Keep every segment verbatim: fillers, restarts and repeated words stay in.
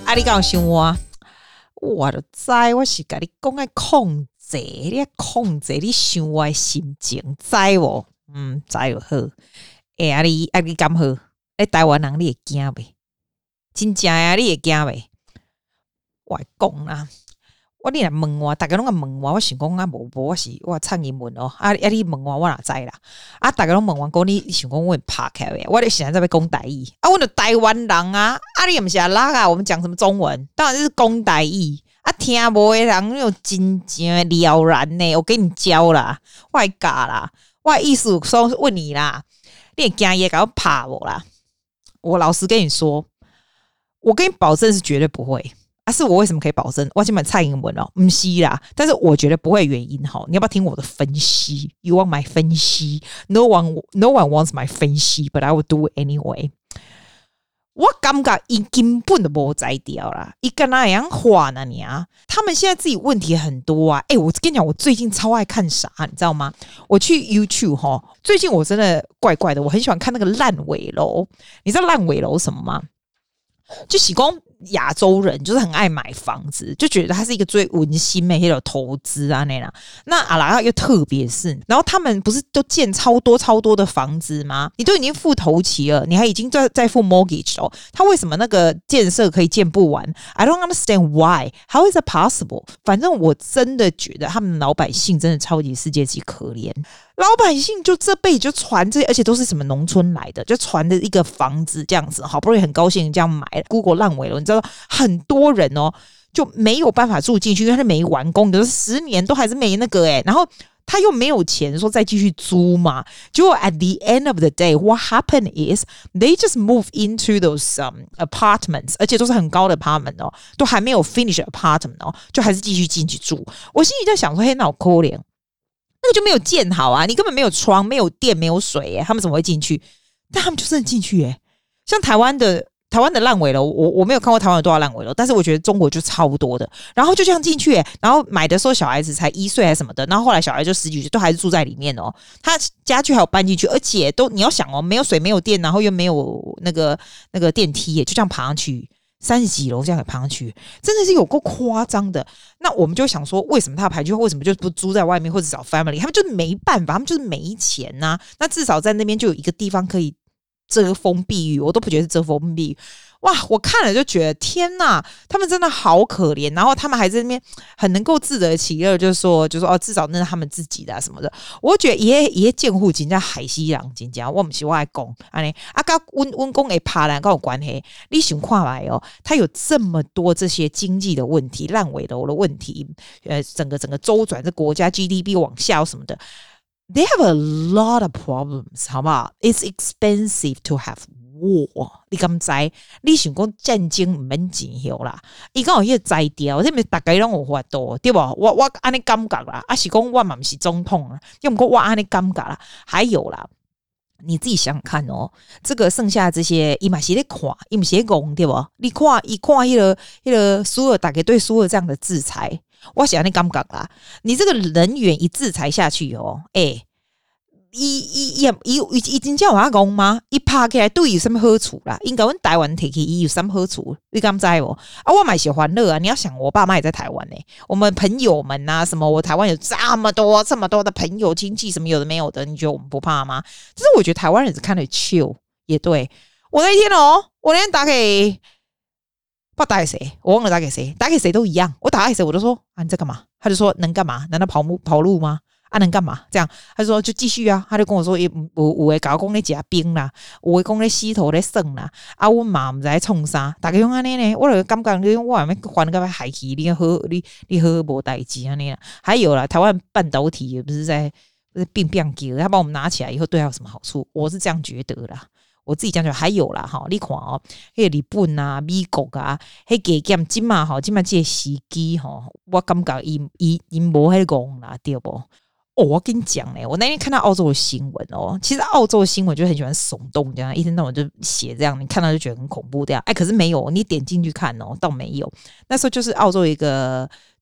啊，你敢有想我？我就知，我是跟你講愛控制，你愛控制你想我的心情，知無？嗯，知就好。哎、欸，啊你啊你敢好？哎，台灣人你會驚袂？真正啊，你會驚袂？我會講啦。我你來問我，大家攏個問我，我想講啊，無無我是我唱英文哦。啊啊，你問我，我哪知啦？啊，大家攏問我講，你想講我拍開誒？我咧現在在要講台語啊，我著台灣人啊，啊你也不是啊拉啊，我們講什麼中文？當然是講台語啊，聽無誒人有真正了然呢。我給你教啦，我會教啦，我的意思說問你啦，你會驚也給我拍我啦？我老實跟你說，我跟你保證是絕對不會。啊、是我為什麼可以保證？我今晚蔡英文哦，不是啦，但是我覺得不會原因哈。你要不要聽我的分析 ？You want my 分析 ？No one, no one wants my 分析 ，but I will do it anyway。我感覺伊根本都無在掉啦，伊跟那樣話呢你啊？他們現在自己問題很多啊。哎、欸，我跟你講，我最近超愛看啥，你知道嗎？我去 YouTube 哈，最近我真的怪怪的，我很喜歡看那個爛尾樓。你知道爛尾樓什麼嗎？就喜公亞洲人就是很愛買房子，就覺得它是一個最溫馨的那種投資啊那啦。那阿拉又特別是，然後他們不是都建超多超多的房子嗎？你都已經付頭期了，你還已經在在付 mortgage 哦，他為什麼那個建設可以建不完 ？I don't understand why. How is it possible? 反正我真的覺得他們老百姓真的超級世界級可憐。老百姓就這輩子就傳這，而且都是什麼農村來的，就傳的一個房子這樣子，好不容易很高興這樣買了 ，Google 爛尾了，你知道很多人哦就沒有辦法住進去，因為他沒完工，就是十年都還是沒那個誒，然後他又沒有錢說再繼續租嘛，結果 at the end of the day, what happened is they just move into those um, apartments， 而且都是很高的 apartment 哦，都還沒有 finish apartment 哦，就還是繼續進去住。我心裡在想說，嘿，那好可憐。那個就沒有建好啊，你根本沒有窗，沒有電，沒有水耶，他們怎麼會進去？但他們就真的進去耶。像台灣的台灣的爛尾樓，我我沒有看過台灣有多少爛尾樓，但是我覺得中國就超多的。然後就這樣進去耶，然後買的時候小孩子才一歲還是什麼的，然後後來小孩就十幾歲，都還是住在裡面哦。他家具還有搬進去，而且都你要想哦，沒有水，沒有電，然後又沒有那個那個電梯耶，就這樣爬上去。三十幾樓這樣給爬上去，真的是有夠誇張的。那我們就想說，為什麼他排去？為什麼就不租在外面或者找 family？ 他們就是沒辦法，他們就是沒錢吶、啊。那至少在那邊就有一個地方可以遮風避雨，我都不覺得是遮風避雨。哇，我看了就覺得天哪，他們真的好可憐。然後他們還在那邊很能夠自得其樂，就是說，就說哦，至少那是他們自己的、啊、什麼的。我覺得也也建戶真叫海西人，真正我不是我愛講，安尼啊，跟溫溫公誒爬欄跟有關係。你想看來哦，他有這麼多這些經濟的問題、爛尾樓的問題，呃，整個整個週轉這國家 G D P 往下什麼的。They have a lot of problems， 好不好 ？It's expensive to have war。你敢知？你想講戰爭唔免錢後啦？伊講有迄個摘掉，這邊大家攏有法度，對不？我我安尼感覺啦，啊是講我嘛不是總統啦，要唔過我安尼感覺啦。還有啦，你自己想想看哦，這個剩下的這些，伊嘛是咧看，伊嘛是咧講，對不？你看，伊看迄個迄個蘇爾，大家對蘇爾這樣的制裁。我想你感覺啦，你這個人員一制裁下去哦，哎、欸，伊伊伊伊伊真正有法講嗎？伊拍起來對伊有什麼好處啦？應該阮台灣提起伊有什麼好處？你敢知無？啊，我嘛是歡樂啊！你要想，我爸媽也在台灣呢、欸，我們朋友們啊，什麼我台灣有這麼多這麼多的朋友親戚，什麼有的沒有的，你覺得我們不怕嗎？只是我覺得台灣人是看得 chill， 也對。我那一天哦，我那天打給。不知道打給誰，我忘了打給誰，打給誰都一樣。我打給誰，我就說啊，你在幹嘛？他就說能幹嘛？難道跑路跑路嗎？啊，能幹嘛？這樣他就說就繼續啊。他就跟我說，有有的搞講咧吃冰啦，有的講咧洗頭咧耍啦。啊，我嘛唔知創啥，大家用安尼呢，我就感覺你我還沒還個海奇，你好你你好無代志安尼啦。還有啦，台灣半導體也不是在變變叫，他把我們拿起來以後對他有什麼好處？我是這樣覺得啦。我自己講講，還有啦哈，你看哦，迄個日本啊、美國啊，迄加減今嘛哈，今嘛這個時機哈，我感覺伊伊伊無迄講啦，對不？哦，我跟你講呢，我那天看到澳洲的新聞哦，其實澳洲的新聞就很喜歡聳動這樣，一天到晚就寫這樣，你看到就覺得很恐怖這樣。哎，可是沒有，你點進去看哦，倒沒有。那時候就是澳洲一個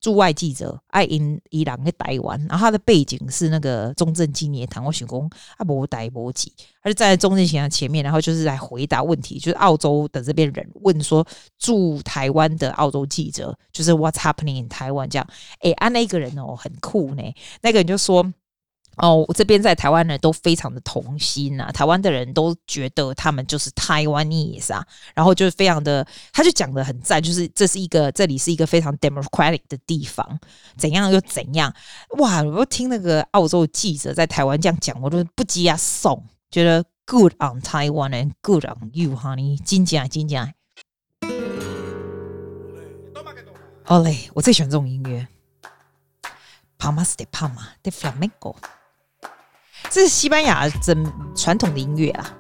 駐外記者，愛因伊朗在台灣，然後他的背景是那個中正紀念堂。我想說啊，沒台沒記，他就站在中正紀念堂前面，然後就是來回答問題，就是澳洲的這邊人問說，駐台灣的澳洲記者，就是 What's happening in Taiwan 這樣。哎，啊那個人哦很酷呢，那個人就說。哦，我這邊在台灣人都非常的同心啊，台灣的人都覺得他們就是 Taiwanese 啊，然後就是非常的，他就講得很讚，就是這是一個這裡是一個非常 democratic 的地方，怎樣又怎樣，哇！我聽那個澳洲記者在台灣這樣講，我都不急啊送，覺得 good on Taiwan and good on you honey， 真假真假。好嘞，我最喜歡這種音樂 ，Palmas de Palma de Flamenco。這是西班牙真傳統的音樂啊！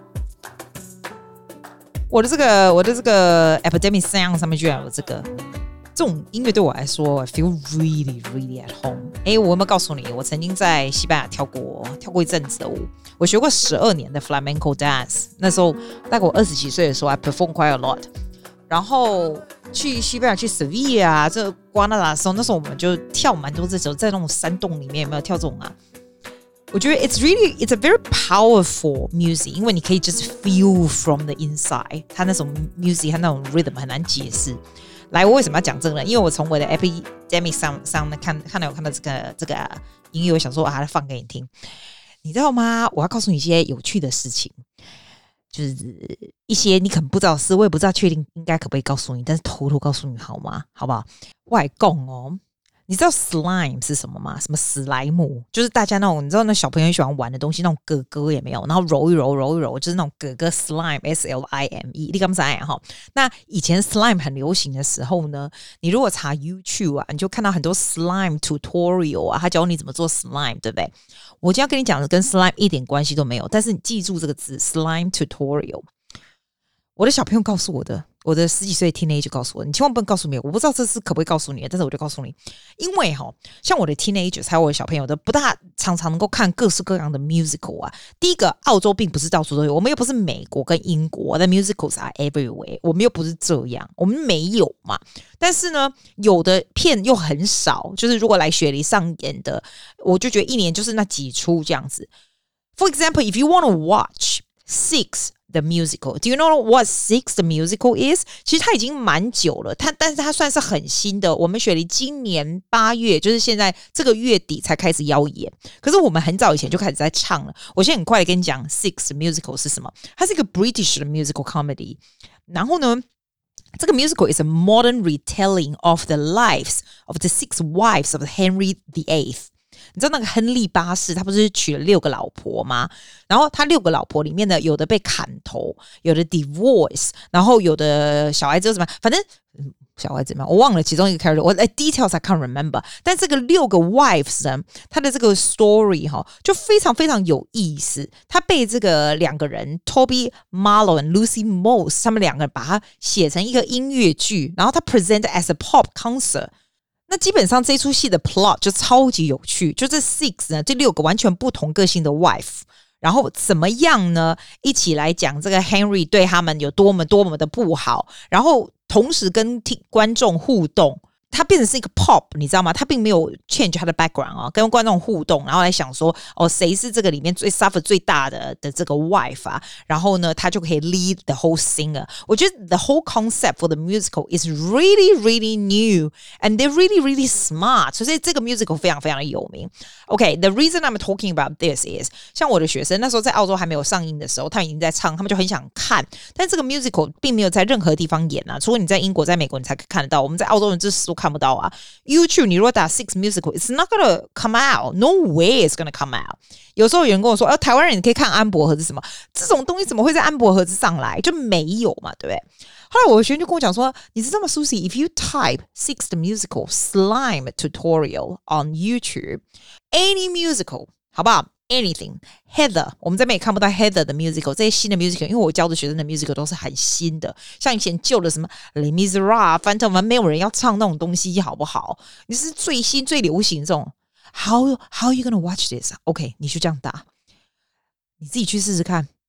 我的這個我的這個 Epidemic Sound 上面居然有這個這種音樂，對我來說 I feel really really at home。哎，我有沒有告訴你，我曾經在西班牙跳過跳過一陣子的舞，我學過十二年的 Flamenco dance。那時候大概我二十幾歲的時候 I perform quite a lot。然後去西班牙去 Sevilla 啊，這瓜納達的時候，那時候我們就跳蠻多這種，在那種山洞裡面有沒有跳這種啊？我覺得 it's really it's a very powerful music， 因為你可以 just feel from the inside， 它那種 music 它那種 rhythm 很難解釋。來，我為什麼要講這個呢？因為我從我的 Epidemic 上上看看到有看到這個這個音樂，我想說啊，放給你聽，你知道嗎？我要告訴你一些有趣的事情，就是一些你可能不知道的事，我也不知道確定應該可不可以告訴你，但是偷偷告訴你好嗎？好不好？我來講哦。你知道 slime 是什麼嗎？什麼史萊姆，就是大家那種你知道那小朋友喜歡玩的東西，那種哥哥也沒有，然後揉一揉揉一揉，就是那種哥哥 slime S L I M E， 你敢不知道哈？那以前 slime 很流行的時候呢，你如果查 YouTube 啊，你就看到很多 slime tutorial 啊，他教你怎麼做 slime， 對不對？我今天要跟你講的跟 slime 一點關係都沒有，但是你記住這個字 slime tutorial。我的小朋友告訴我的，我的十幾歲的 teenager 告訴我，你千萬不能告訴我，我不知道這是可不可以告訴你，但是我就告訴你，因為哈，像我的 teenagers 還有我的小朋友都不大常常能夠看各式各樣的 musical 啊。第一個，澳洲並不是到處都有，我們又不是美國跟英國的 musicals are everywhere， 我們又不是這樣，我們沒有嘛。但是呢，有的片又很少，就是如果來雪梨上演的，我就覺得一年就是那幾出這樣子。For example, if you want to watch Six。The musical. Do you know what Six the musical is? 其實它已經蠻久了，它但是它算是很新的。我們雪梨今年八月，就是現在這個月底才開始邀演。可是我們很早以前就開始在唱了。我現在很快的跟你講 Six the musical 是什麼？它是一個 British 的 musical comedy。然後呢，這個 musical is a modern retelling of the lives of the six wives of Henry the Eighth。你知道那個亨利八世他不是娶了六個老婆嗎？然後他六個老婆裡面呢，有的被砍頭，有的 divorce， 然後有的小孩子怎麼樣，反正小孩子嘛，我忘了其中一個 character， 我 details I can't remember。但這個六個 wives 呢，他的這個 story 哈，就非常非常有意思。他被這個兩個人 Toby Marlow and Lucy Moss 他們兩個人把它寫成一個音樂劇，然後他 present as a pop concert。那基本上這出戲的 plot 就超級有趣，就這 six 呢，這六個完全不同個性的 wife， 然後怎麼樣呢？一起來講這個 Henry 對他們有多麼多麼的不好，然後同時跟聽觀眾互動。它變成是一個 pop， 你知道嗎？它並沒有 change 它的 background 啊，跟觀眾互動，然後來想說，哦，誰是這個裡面最 suffer 最大的的這個 wife 啊？然後呢，他就可以 lead the whole singer。我覺得 the whole concept for the musical is really really new and they're really really smart。所以這個 musical 非常非常的有名。OK，the reason I'm talking about this is， 像我的學生那時候在澳洲還沒有上映的時候，他們已經在唱，他們就很想看，但這個 musical 並沒有在任何地方演啊，除了你在英國、在美國你才可以看得到，我們在澳洲人這時看不到啊。YouTube 你如果打 Six Musical It's not gonna come out No way it's gonna come out。 有時候有人跟我說、啊、台灣人你可以看安博盒子什麼，這種東西怎麼會在安博盒子上來，就沒有嘛，對不對？後來我的學生就跟我講說，你知道嗎 Susie， If you type Six the Musical Slime Tutorial on YouTube Any musical 好不好？Anything Heather 我們這邊也看不到 Heather 的 musical， 這些新的 musical， 因為我教的學生的 musical 都是很新的，像以前舊的什麼 Les Miserables 反正沒有人要唱那種東西好不好？你是最新最流行這種 How, how are you gonna watch this? OK 你就這樣打，你自己去試試看，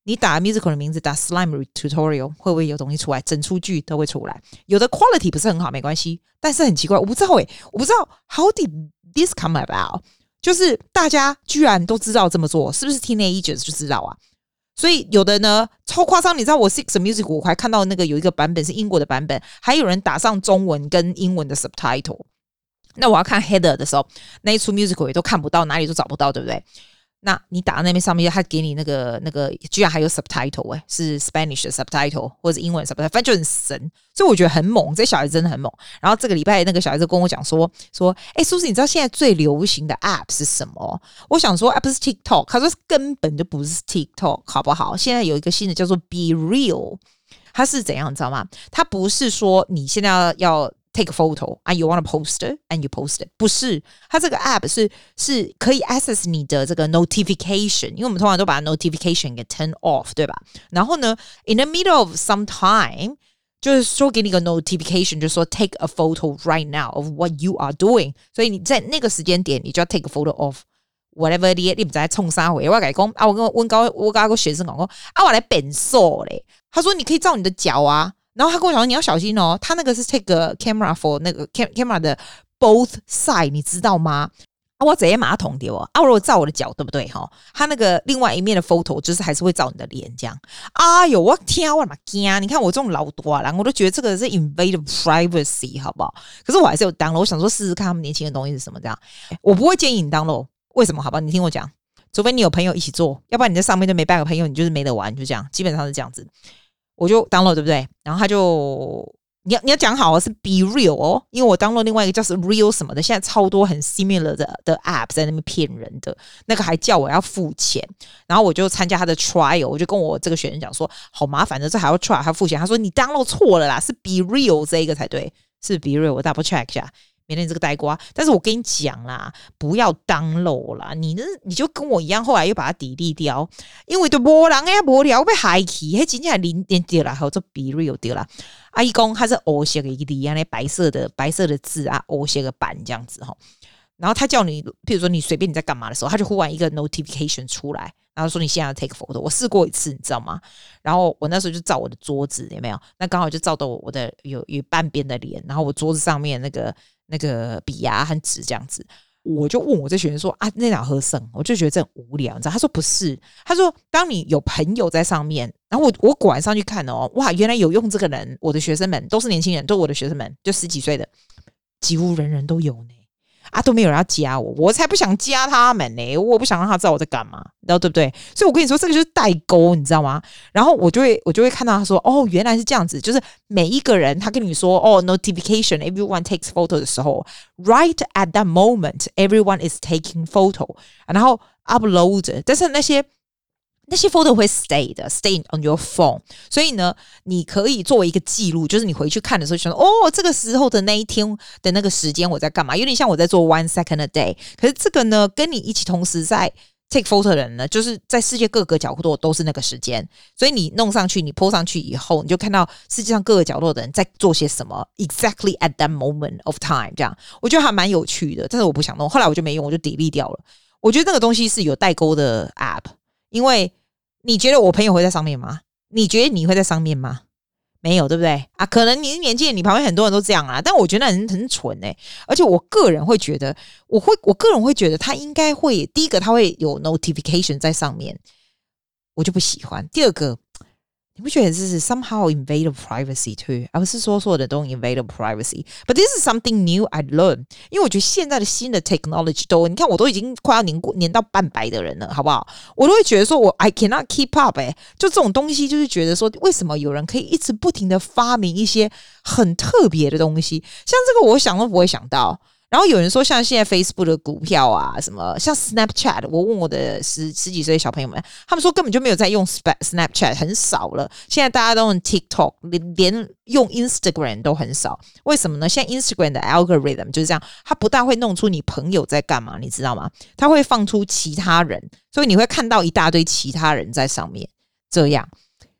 你打 musical 的名字，打 slime tutorial 會不會有東西出來？整出劇都會出來。有的 quality 不是很好，沒關係，但是很奇怪，我不知道誒、欸，我不知道 how did this come about？ 就是大家居然都知道這麼做，是不是 teenagers 就知道啊？所以有的呢超誇張，你知道我 Six Music 我還看到那個有一個版本是英國的版本，還有人打上中文跟英文的 subtitle。那我要看 header 的時候，那一出 musical 也都看不到，哪裡都找不到，對不對？那你打那邊上面，他給你那個那個，居然還有 subtitle 哎、欸，是 Spanish 的 subtitle 或者是英文的 subtitle， 反正就很神，所以我覺得很猛，這小孩子真的很猛。然後這個禮拜那個小孩子跟我講說說，哎，蘇斯，你知道現在最流行的 app 是什麼？我想說，啊，不是 TikTok， 他說根本就不是 TikTok， 好不好？現在有一個新的叫做 Be Real， 它是怎樣，你知道嗎？它不是說你現在要要。take a photo and you want to post it and you post it， 不是，它這個 app 是是可以 access 你的這個 notification， 因為我們通常都把 notification 給 turn off， 對吧？然後呢 in the middle of some time 就是說給你個 notification， 就是說 take a photo right now of what you are doing， 所以你在那個時間點你就要 take a photo of whatever 你你不知道衝啥回，我跟你講啊，我跟我跟我跟個學生講說啊，我來變瘦嘞，他說你可以照你的腳啊。然後他跟我講說你要小心哦，他那個是 take a camera for 那個 camera 的 both side， 你知道嗎？啊，我直接馬桶丟啊！我如果照我的腳，對不对哈？他那個另外一面的 photo 就是還是會照你的臉這樣。哎呦，我天，我的媽驚！你看我這種老多啦，我都覺得這個是 invade privacy， 好不好？可是我還是有 download，我想說試試看他們年輕的東西是什麼這樣。我不會建議你 download， 為什麼？好吧，你聽我講，除非你有朋友一起做，要不然你在上面就沒半個朋友，你就是沒得玩，就這樣，基本上是這樣子。我就 download 對不對？然後他就你要你要講好是 be real 哦，因為我 download 另外一個叫是 real 什麼的，現在超多很 similar 的的 app 在那邊騙人的，那個還叫我要付錢，然後我就參加他的 trial， 我就跟我這個學生講說，好麻煩的，這還要 try 還要付錢。他說你 download 錯了啦，是 be real 這一個才對，是 be real， 我 double check 一下。免得你這個呆瓜，但是我跟你講啦，不要 download 啦，你呢你就跟我一樣，後來又把它 delete 掉，因為都沒人呀，無聊被害去，迄真正零點掉啦，或者 be real 掉啦。阿姨公它是黑色的一個字，那白色的白色的字啊，黑色的版這樣子哈。然後他叫你，譬如說你隨便你在幹嘛的時候，他就忽然一個 notification 出來，然後說你現在要 take photo。我試過一次，你知道嗎？然後我那時候就照我的桌子，有沒有？那剛好就照到我的有有半邊的臉，然後我桌子上面那個那個筆啊和紙這樣子，我就問我這學生說啊，那哪合適？我就覺得這很無聊，你知道？他說不是，他說當你有朋友在上面，然後我我果然上去看哦，哇，原來有用這個人，我的學生們都是年輕人，都是我的學生們，就十幾歲的，幾乎人人都有呢。啊，都沒有人要加我，我才不想加他們呢、欸！我不想讓他知道我在幹嘛，你知道對不對？所以我跟你說，這個就是代溝，你知道嗎？然後我就會，我就會看到他說，哦，原來是這樣子，就是每一個人他跟你說，哦 ，notification everyone takes photo 的時候 ，right at that moment everyone is taking photo， 然後 upload， 但是那些。那些 photo 會 stay 的 ，stay on your phone。所以呢，你可以作為一個記錄，就是你回去看的時候，就說哦，這個時候的那一天的那個時間我在幹嘛？有點像我在做 one second a day。可是這個呢，跟你一起同時在 take photo 的人呢，就是在世界各個角落都是那個時間。所以你弄上去，你 po 上去以後，你就看到世界上各個角落的人在做些什麼 ，exactly at that moment of time。這樣，我覺得還蠻有趣的，但是我不想弄，後來我就沒用，我就 delete 掉了。我覺得那個東西是有代溝的 app， 因為。你覺得我朋友會在上面嗎？你覺得你會在上面嗎？沒有，對不對啊？可能你是年輕人，你旁邊很多人都這樣啊。但我覺得那人很蠢哎、欸，而且我個人會覺得，我會，我個人會覺得他應該會，第一個他會有 notification 在上面，我就不喜歡。第二個，你不覺得這是 somehow invade privacy too？ 而不是說所有的都 invade privacy。But this is something new I learned。因為我覺得現在的新的 technology 都，你看我都已經快要年過年到半百的人了，好不好？我都會覺得說我 I cannot keep up 哎、欸，就這種東西，就是覺得說為什麼有人可以一直不停的發明一些很特別的東西，像這個我想都不會想到。然後有人說，像現在 Facebook 的股票啊，什麼像 Snapchat， 我問我的十十幾歲的小朋友們，他們說根本就沒有在用 Snapchat， 很少了。現在大家都用 TikTok， 連連用 Instagram 都很少。為什麼呢？現在 Instagram 的 algorithm 就是這樣，它不但會弄出你朋友在幹嘛，你知道嗎？它會放出其他人，所以你會看到一大堆其他人在上面。這樣，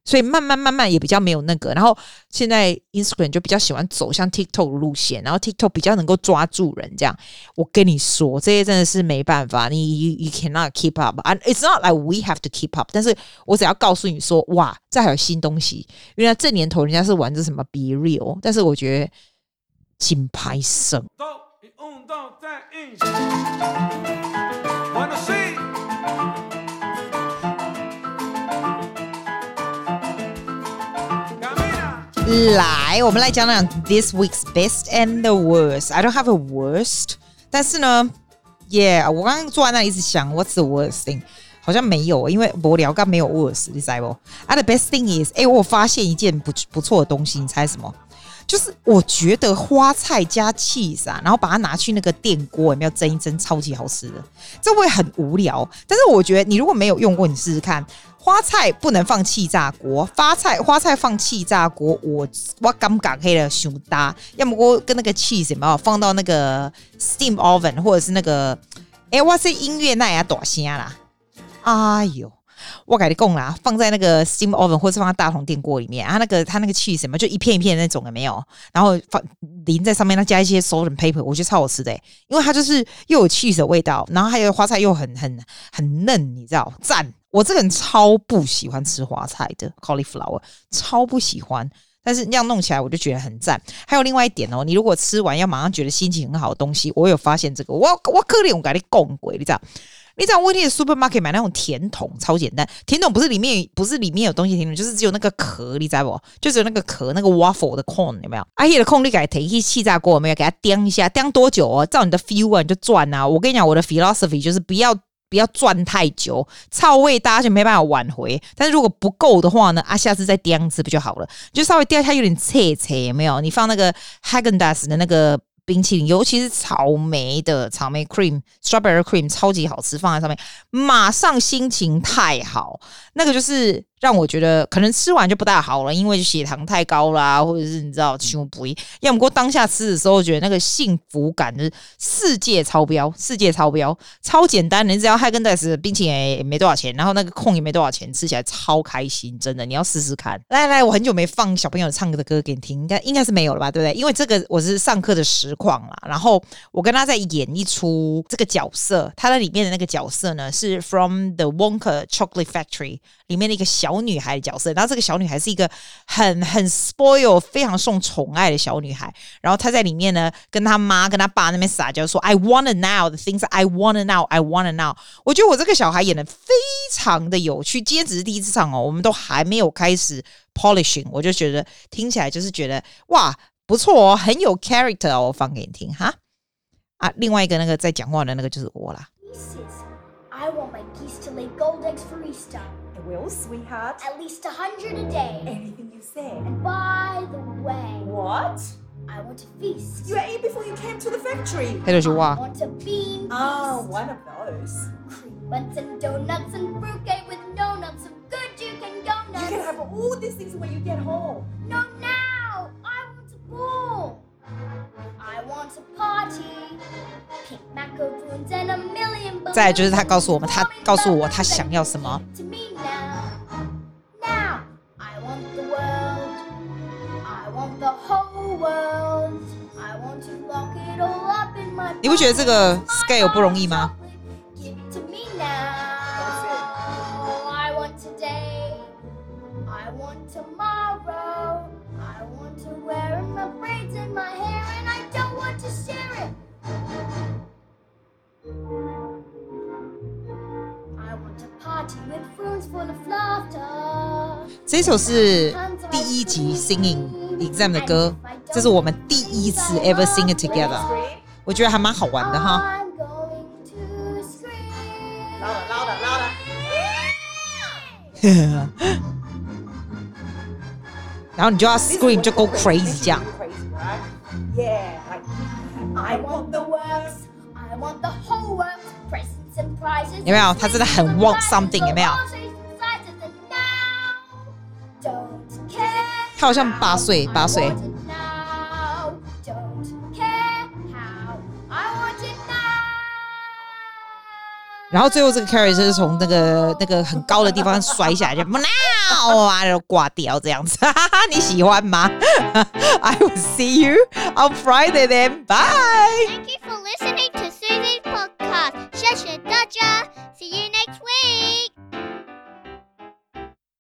所以慢慢慢慢也比較沒有那個。然後現在 Instagram 就比較喜歡走向 TikTok 的路線，然後 TikTok 比較能夠抓住人這樣。我跟你說，這些真的是沒辦法，你 you, you cannot keep up and it's not like we have to keep up， 但是我只要告訴你說，哇，這還有新東西，原來這年頭人家是玩這什麼 Be Real， 但是我覺得金牌勝。来，我們來講講 this week's best and the worst. I don't have a worst， 但是呢 ，yeah， 我剛剛坐在那裡一直想 ，what's the worst thing？ 好像沒有，因為無聊，剛沒有 worst， 你知道不？啊 ，the best thing is， 哎，我發現一件不不錯的東西，你猜什麼？就是我覺得花菜加 cheese 啊，然後把它拿去那個電鍋，有沒有蒸一蒸，超級好吃的。這會很無聊，但是我覺得你如果沒有用過，你試試看。花菜不能放氣炸鍋，花菜花菜放氣炸鍋，我我感覺可以了，太搭。要麼我跟那個 cheese 有沒有放到那個 steam oven， 或者是那個，哎，我這音樂那也大聲啦，哎呦！我跟你講啦，放在那個 steam oven 或是放在大同電鍋裡面，啊，那個它那個 cheese 什麼就一片一片的那種有沒有？然後放淋在上面，它加一些 salt and pepper， 我覺得超好吃的，因為它就是又有 cheese 的味道，然後還有花菜又很很很嫩，你知道？讚！我這個人超不喜歡吃花菜的 cauliflower， 超不喜歡。但是那樣弄起來我就覺得很讚。還有另外一點哦，你如果吃完要馬上覺得心情很好的東西，我有發現這個，我我可憐我跟你講過，你知道？你知道我去 supermarket 買那種甜筒，超簡單。甜筒不是裡面不是裡面有東西，甜筒就是只有那個殼，你知道不？就只有那個殼，那個 waffle 的 cone 有沒有？啊，那個 cone 你給它提去氣炸鍋有沒有？給它叮一下，叮多久哦？照你的 feel 啊，你就轉啊。我跟你講，我的 philosophy 就是不要不要轉太久，臭味大家就沒辦法挽回。但是如果不夠的話呢，啊，下次再叮一次不就好了？就稍微叮它有點脆脆，有沒有？你放那個 Häagen-Dazs 的那個冰淇淋，尤其是草莓的草莓 cream、strawberry cream 超級好吃，放在上面馬上心情太好。那個就是讓我覺得可能吃完就不大好了，因為血糖太高啦，或者是你知道胸不一。要麼過當下吃的時候，覺得那個幸福感就是世界超標，世界超標，超簡單的，你只要Häagen-Dazs冰淇淋也沒多少錢，然後那個控也沒多少錢，吃起來超開心，真的，你要試試看。來來，我很久沒放小朋友唱歌的歌給你聽，應該應該是沒有了吧，對不對？因為這個我是上課的實況啦，然後我跟他在演一出這個角色，他在裡面的那個角色呢是 From the Wonka Chocolate Factory 裡面的一個小女孩的角色，然後這個小女孩是一個很很 spoil 非常受寵愛的小女孩，然後她在裡面呢跟她媽跟她爸那邊撒嬌說 I wanna now the things I wanna now I wanna now。 我覺得我這個小孩演得非常的有趣，今天只是第一次唱哦，我們都還沒有開始 polishing， 我就覺得聽起來就是覺得哇不錯哦，很有 character 哦，我放給你聽哈。啊，另外一個那個在講話的那個就是我啦。 I want my geese to lay gold eggs for Easter. I will, sweetheart. At least a hundred a day. Anything you say. And by the way, What? I want to feast. You ate before you came to the factory. 这就是话。 I want a bean feast. Oh, one of those. Cream buns and donuts and fruitcake with no nuts. So good you can go nuts. You can have all these things when you get home. No, now! I want a ball. I want a party. Pink macaroons and a million balloons. 再来就是他告訴我们，他告訴我他想要什么。 To me now. Now, I want the world. I want the whole world. I want to lock it all up in my. 你不覺得這個 scale 不容易嗎？ Give it to me now. I want today. I want tomorrow. I want to wear my braids in my hair, and I don't want to share it. I want a party with rooms full of laughter. 這首是第一集 singing exam 的歌，這是我們第一次 ever sing it together， 我覺得還蠻好玩的哈。 I'm going to scream. Louder, louder, louder. 然後你就要 scream 就 go crazy 這樣。 Crazy, right? Yeah, like I want the works. I want the whole works. Presents and prizes. 有沒有？他真的很 want something， 有沒有？他好像八歲，八歲。 然後最後這個 character 是從那個那個很高的地方摔下來，就喵啊，然後掛掉這樣子。你喜歡嗎？I will see you on Friday then. Bye. Thank you for listening to Susie's podcast. 謝謝大家. See you next week.